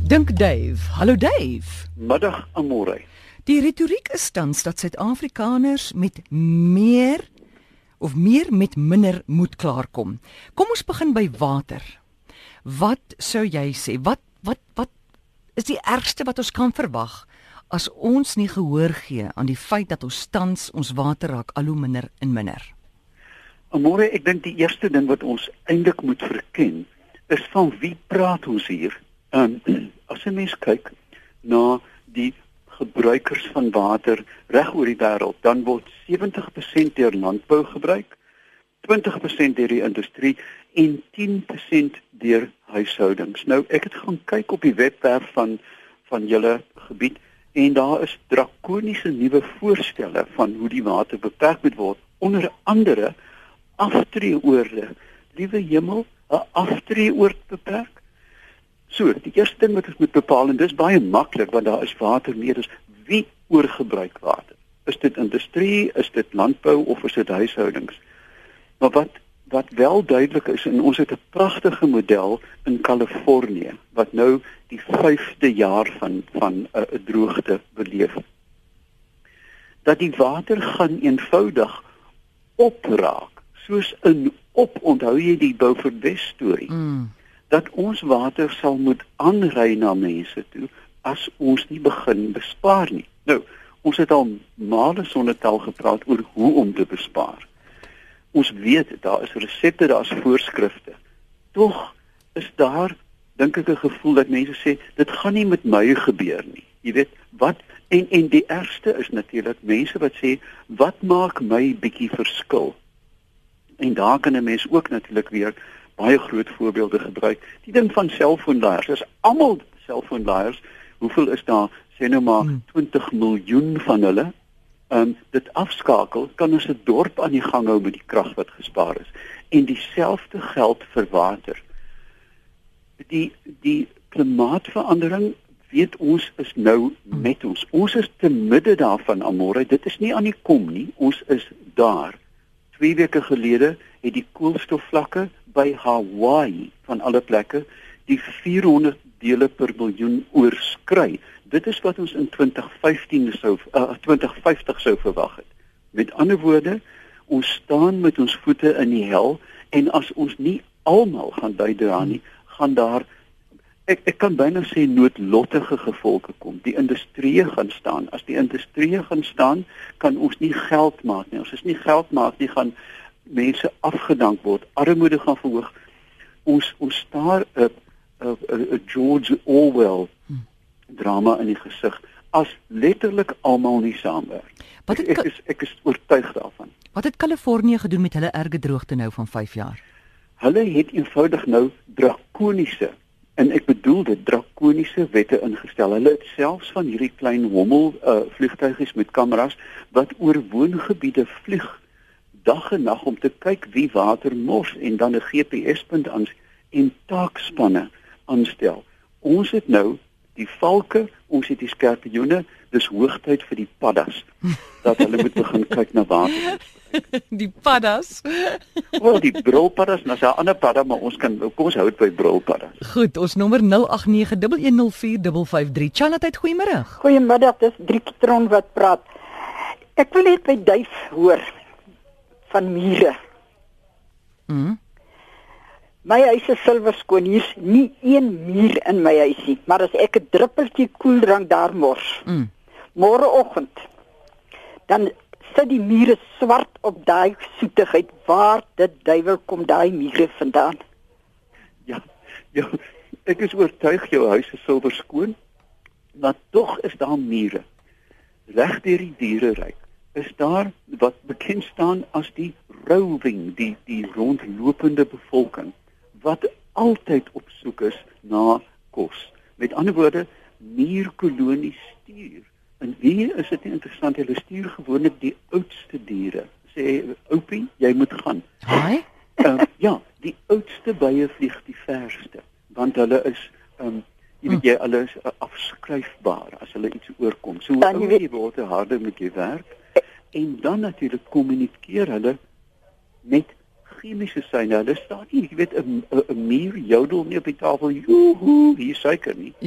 Dink Dave. Hallo Dave. Middag Amore. Die retoriek is tans dat Suid-Afrikaners met meer met minder moet klaarkom. Kom ons begin by water. Wat sou jy sê? Wat is die ergste wat ons kan verwag as ons nie gehoor gee aan die feit dat ons tans ons water raak al hoe minder en minder? Amore, ek dink die eerste ding wat ons eintlik moet verken is van wie praat ons hier? As 'n mens kyk na die gebruikers van water reg oor die wêreld, dan word 70% deur landbou gebruik, 20% deur die industrie en 10% deur huishoudings. Nou, ek het gaan kyk op die webwerf van julle gebied en daar is drakoniese nuwe voorstelle van hoe die water beperk moet word, onder andere aftreeoorde. Liewe hemel, 'n aftreeoord beperk? So, die eerste ding wat ons moet bepaal, en dis baie maklik want daar is water meer, is wie oorgebruik water? Is dit industrie, is dit landbou of is dit huishoudings? Maar wat wel duidelik is, en ons het 'n pragtige model in Kalifornië wat nou die 5de jaar van 'n droogte beleef. Dat die water gaan eenvoudig opraak, soos onthou jy die Beaufort West storie? Dat ons water sal moet aanry na mense toe as ons nie begin bespaar nie. Nou, ons het al male sonder tel gepraat oor hoe om te bespaar. Ons weet, daar is resepte, daar is voorskrifte. Tog is daar, dink ek, 'n gevoel dat mense sê, dit gaan nie met my gebeur nie. Jy weet, wat, en die ergste is natuurlik mense wat sê, wat maak my bietjie verskil? En daar kan 'n mens ook natuurlik weer baie groot voorbeelde gebruik. Die ding van selfoonlaaiers, dis almal selfoonlaaiers. Hoeveel is daar? Sê nou maar 20 miljoen van hulle. Dit afskakel, kan ons 'n dorp aan die gang hou met die krag wat gespaar is. En dieselfde geld vir water. Die klimaatsverandering, weet ons, is nou met ons. Ons is te midde daarvan, Amore. Dit is nie aan die kom nie. Ons is daar. 2 weke gelede het die koolstofvlakke by Hawaii van alle plekke die 400 dele per miljoen oorskry. Dit is wat ons in 2050 sou verwag het. Met ander woorde, ons staan met ons voete in die hel en as ons nie almal gaan bydra nie, gaan daar, ek kan byna sê, noodlottige gevolge kom. Die industrie gaan staan. As die industrie gaan staan, kan ons nie geld maak nie. As ons nie geld maak nie, gaan mense afgedank word. Armoede gaan verhoog. Ons staar 'n George Orwell drama in die gesig as letterlik almal nie saamwerk. Ek is oortuig daarvan. Wat het Kalifornië gedoen met hulle erge droogte nou van 5 jaar? Hulle het eenvoudig nou drakoniese, en ek bedoel dit, drakoniese wette ingestel. Hulle het selfs van hierdie klein hommel vliegtuigies met kameras wat oor woongebiede vlieg dag en nag om te kyk wie water mors en dan 'n GPS-punt aan en taakspanne aanstel. Ons het nou die valke, ons het die skorpioene, dis hoogtyd vir die paddas dat hulle moet begin kyk na water. Die paddas. Wel, die brulpaddas, nou is daar 'n ander padda, maar kom ons hou dit by brulpaddas. Goed, ons nommer 0891104553. Chanat, goeiemôre. Goeiemiddag, dis Driekitron wat praat. Ek wil net by duif hoor van mure. My huis is silverskoon, hier's nie een muur in my huis nie, maar as ek 'n druppeltjie koeldrank daar mors, môreoggend, dan sit die mure swart op daai soetigheid. Waar dit duiwel kom daai mure vandaan? Ja, ek is oortuig jou huis is silverskoon, maar tog is daar mure. Reg deur die diereryk is daar wat bekend staan as die roving, die rondlopende bevolking, wat altyd op soek is na kos. Met ander woorde, muurkolonies stuur. En hier is dit interessant, hulle stuur gewoonlik die oudste diere. Sê, oupie, jy moet gaan. Haai? Ja, die oudste bye vlieg die verste, want hulle is, jy weet hulle is afskryfbaar as hulle iets oorkom. So hoe jy word, harder moet jy werk. En dan natuurlik kommunikeer hulle met chemiese syne. Hulle staan nie, jy weet, 'n muur jodel nie op die tafel, joehoe, hier suiker nie. Ja.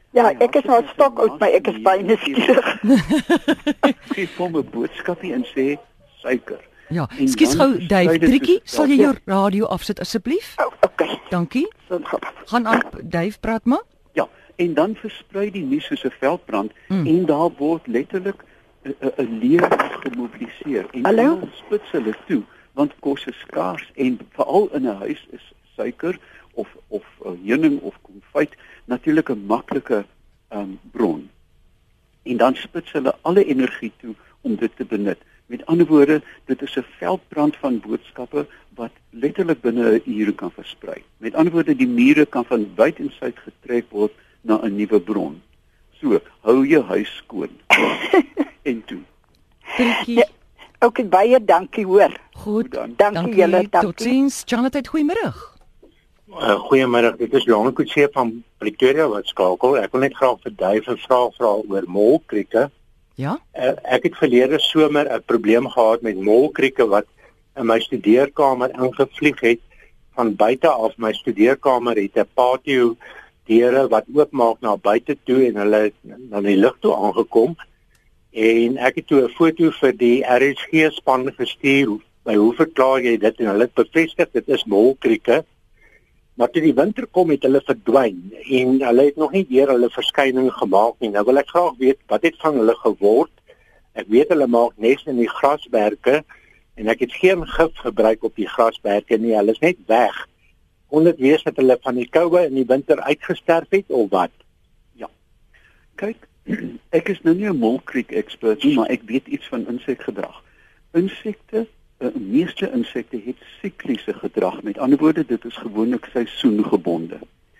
Ja, ek is nou stok uit, maar ek is baie nuuskierig. Gee hom 'n boodskapie en sê suiker. Ja, En skus dan gou Dave, versprei dit Triekie, soos- sal jy jou radio afsit asseblief? Oh, okay. Dankie. So gaan. Gaan aan Dave, praat maar. Ja, en dan versprei die nuus soos 'n veldbrand en daar word letterlik 'n leer gemobiliseer en Hallo? almal spits hulle toe want kos is skaars en veral in 'n huis is suiker of heuning of konfyt natuurlik 'n maklike bron. En dan spits hulle alle energie toe om dit te benut. Met ander woorde, dit is 'n veldbrand van boodskappe wat letterlik binne 'n uur kan versprei. Met ander woorde, die mure kan van wyd en suid getrek word na 'n nuwe bron. So, hou jou huis skoon. En toe. Triekie. Ja, okay, baie dankie hoor. Goed. dan. Dankie julle, dankie. Totsiens. Jonathan, goeiemiddag. Goeiemiddag, dit is Johan Kutse van Pretoria wat skakel. Ek wil net graag vir Dave 'n vraag vra oor molkrieke. Ja? Ek het verlede somer 'n probleem gehad met molkrieke wat in my studeerkamer ingevlieg het. Van buite af my studeerkamer het 'n patio deure wat oopmaak na buite toe en hulle het na die lug toe aangekom. En ek het toe 'n foto vir die RSG span gestuur. By hoe verklaar jy dit? En hulle het bevestig dit is molkrieke. Maar toe die winter kom het hulle verdwyn en hulle het nog nie weer hulle verskyning gemaak nie. Nou wil ek graag weet wat het van hulle geword. Ek weet hulle maak nes in die grasberge en ek het geen gif gebruik op die grasberge nie. Hulle is net weg. Kon dit wees dat hulle van die koue in die winter uitgesterf het of wat? Kyk, ek is nou nie 'n molkriek ekspert nie, maar ek weet iets van insekgedrag. Insekte, meeste insekte het sikliese gedrag. Met ander woorde, dit is gewoonlik seisoengebonde.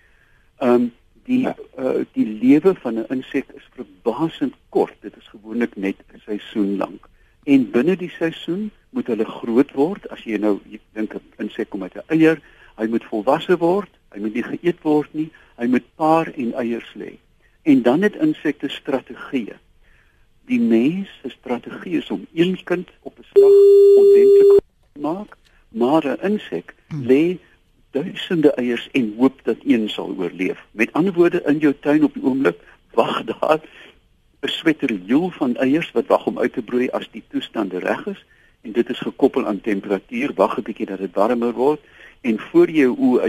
Die lewe van 'n insek is verbasend kort. Dit is gewoonlik net 'n seisoen lank. En binne die seisoen moet hulle groot word. As jy nou dink 'n insek kom uit 'n eier, hy moet volwasse word, hy moet nie geëet word nie, hy moet paar en eiers lê. En dan het insekte strategieë. Die mens se strategie is om een kind op 'n slag ordentlik te maak, maar 'n insek lê duisende eiers en hoop dat een sal oorleef. Met ander woorde, in jou tuin op die oomblik wag daar 'n sweterjoel van eiers wat wag om uit te broei as die toestande reg is en dit is gekoppel aan temperatuur. Wag 'n bietjie dat dit warmer word en voor jy jou oë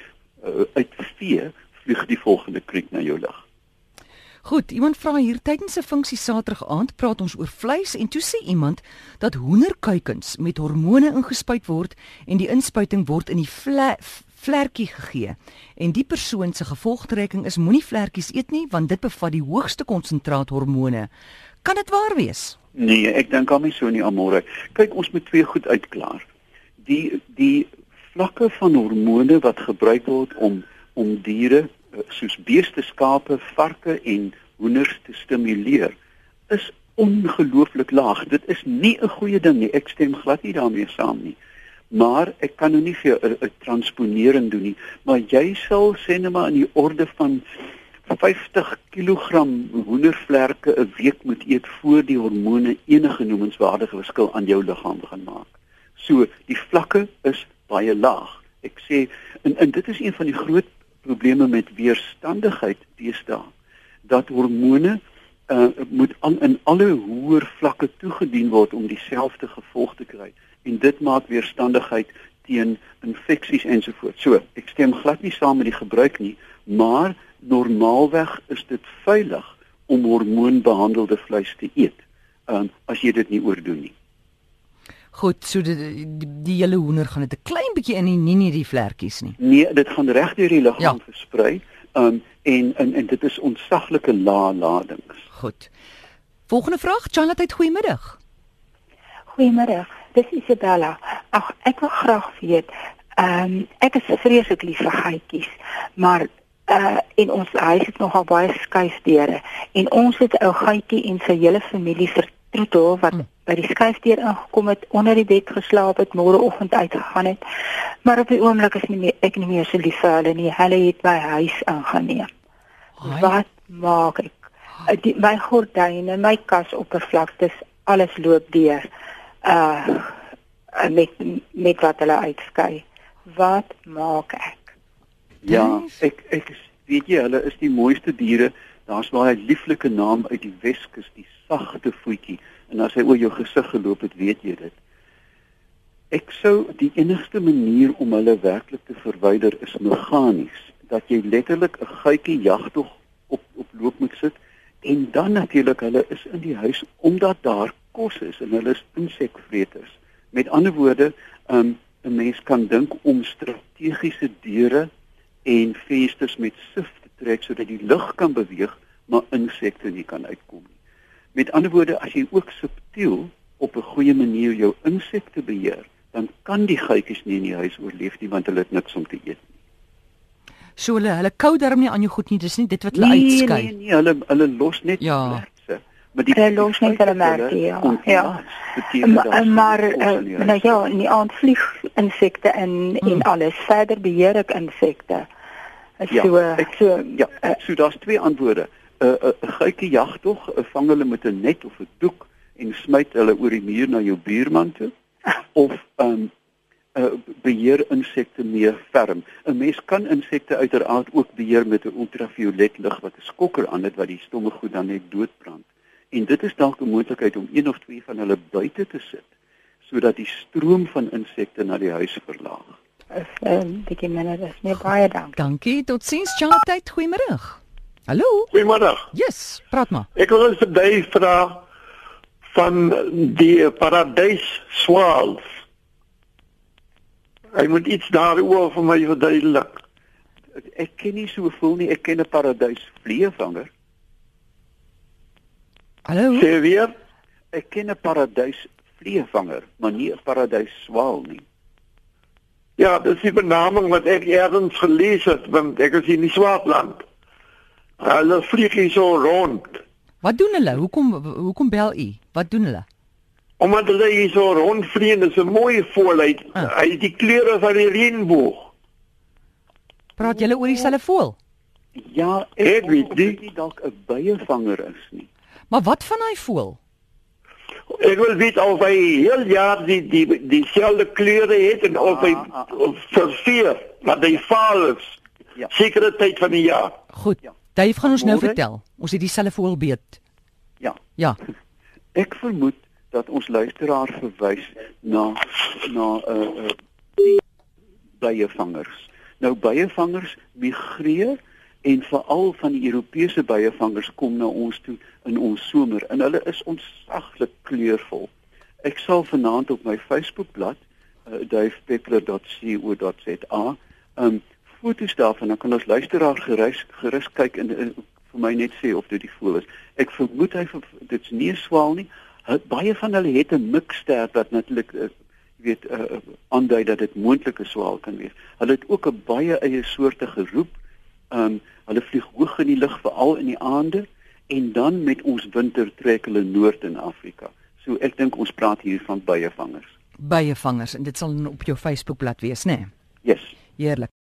uitvee, vlieg die volgende kriek na jou lug. Goed, iemand vra hier tydens 'n funksie Saterdag aand praat ons oor vleis en toe sê iemand dat hoenderkuikens met hormone ingespuit word en die inspuiting word in die vlekkie gegee. En die persoon se gevolgtrekking is moenie vlekkies eet nie want dit bevat die hoogste konsentraat hormone. Kan dit waar wees? Nee, ek dink hom nie so nie, Amore. Kyk, ons moet twee goed uitklaar. Die vlakke van hormone wat gebruik word om diere soos beeste, skape, varke en hoenders te stimuleer, is ongelooflik laag. Dit is nie 'n goeie ding nie. Ek stem glad nie daarmee saam nie. Maar ek kan nou nie vir jou 'n transponering doen nie, maar jy sal sê net maar in die orde van 50 kg hoendervlerke 'n week moet eet voor die hormone enige noemenswaardige verskil aan jou liggaam begin maak. So, die vlakke is baie laag. Ek sê en dit is een van die groot probleme met weerstandigheid deesdae, dat hormone moet in alle hoër vlakke toegedien word om dieselfde gevolg te kry en dit maak weerstandigheid teen infeksies ensovoorts. So, ek stem glad nie saam met die gebruik nie, maar normaalweg is dit veilig om hormoonbehandelde vleis te eet, as jy dit nie oordoen nie. Goed, so die hele hoender gaan dit 'n klein bietjie in nie die vlekkies nie. Nee, dit gaan reg deur die liggaam Ja. versprei, en dit is ontsaglike lae ladings. Goed. Volgende vraag, Jonathan, goeiemiddag. Goeiemiddag, dis Isabella. Ag, ek wil graag weet, ek is vreeslik lief vir geitjies, maar en ons huis het nogal baie skuifdeure en ons het 'n ou geitjie en sy hele familie vertroetel wat by die skuifdeur ingekom het, onder die bed geslaap het, môreoggend uitgegaan het. Maar op die oomblik is ek nie meer so lief vir hulle nie. Hulle het my huis ingeneem. Haai. Wat maak ek? My gordyne, my kasoppervlaktes, alles loop deur. Met wat hulle uitskei. Wat maak ek? Ja, ek weet jy, hulle is die mooiste diere Daar's baie lieflike naam uit die Weskus, die sagte voetjie. En as hy oor jou gesig geloop het, weet jy dit. Ek sou die enigste manier om hulle werklik te verwyder is meganies, dat jy letterlik 'n guitjie jagtog op loop moet sit en dan natuurlik hulle is in die huis omdat daar kos is en hulle is insekvreters. Met ander woorde, 'n mens kan dink om strategiese deure en vensters met sif te trek sodat die lug kan beweeg, maar insekte nie kan uitkom nie. Met ander woorde, as jy ook subtiel op 'n goeie manier jou insekte beheer, dan kan die geitjies nie in die huis oorleef nie want hulle het niks om te eet nie. So hulle kou darm nie aan jou goed nie, dis nie dit wat hulle uitskei. Nee, hulle los net vlerkse. Maar die los net hulle merke, ja. Maar nou ja, nie aan vlieg insekte en alles. Verder beheer ek insekte. So daar's twee antwoorde. 'n Geitjie jagtog, vang hulle met 'n net of 'n doek en smyt hulle oor die muur na jou buurman toe. Of beheer insekte meer ferm. 'n Mens kan insekte uiteraard ook beheer met 'n ultraviolet lig wat 'n skokker aan het wat die stomme goed dan net doodbrand. En dit is dalk 'n moontlikheid om 1 of 2 van hulle buite te sit sodat die stroom van insekte na die huis verlaag. Bietjie minder, dis nie baie dankie. Dankie, totsiens, Charlotte, goeiemôre. Hallo? Goeiemôre. Yes, praat maar. Ek wil eens vir jou vra van die paradijsswaals. Hy moet iets daaroor vir my verduidelik. Ek ken nie so veel nie, ek ken 'n paradysvleevanger. Hallo? Sê weer? Ek ken 'n paradysvleevanger, maar nie 'n paradysswaal nie. Ja, dis die benaming wat ek ergens gelees het, want ek is in die Swartland. Hulle vlieg hier so rond. Wat doen hulle? Hoekom bel u? Wat doen hulle? Omdat hulle hier so rondvlieg, is 'n mooi voël. Hy het die kleure van die reënboog. Praat julle oor dieselfde voël? Ja, ek weet nie dalk 'n byevanger is nie. Maar wat van hy voël? Ek wil weet of hy heel jaar dieselfde kleure het en of hy verveer, maar hy vaal is. Ja. Sekere tyd van die jaar. Goed. Dave gaan ons nou vertel. Ons het dieselfde voël beet. Ja. Ek vermoed dat ons luisteraar verwys na die byevangers. Nou byevangers migreer en veral van die Europese byevangers kom na ons toe in ons somer en hulle is ontsaglik kleurvol. Ek sal vanaand op my Facebookblad davepeppler.co.za foto's daarvan, dan kan ons luisteraar gerus kyk en vir my net sê of dit die voël is. Ek vermoed dit's nie 'n swaal nie. Baie van hulle het 'n mikster wat natuurlik aandui dat dit moontlik 'n swaal kan wees. Hulle het ook 'n baie eie soortige roep. Hulle vlieg hoog in die lug veral in die aande en dan met ons winter trek hulle noord in Afrika. So ek dink ons praat hier van byevangers. Byevangers en dit sal op jou Facebookblad wees, né? Yes. Heerlik.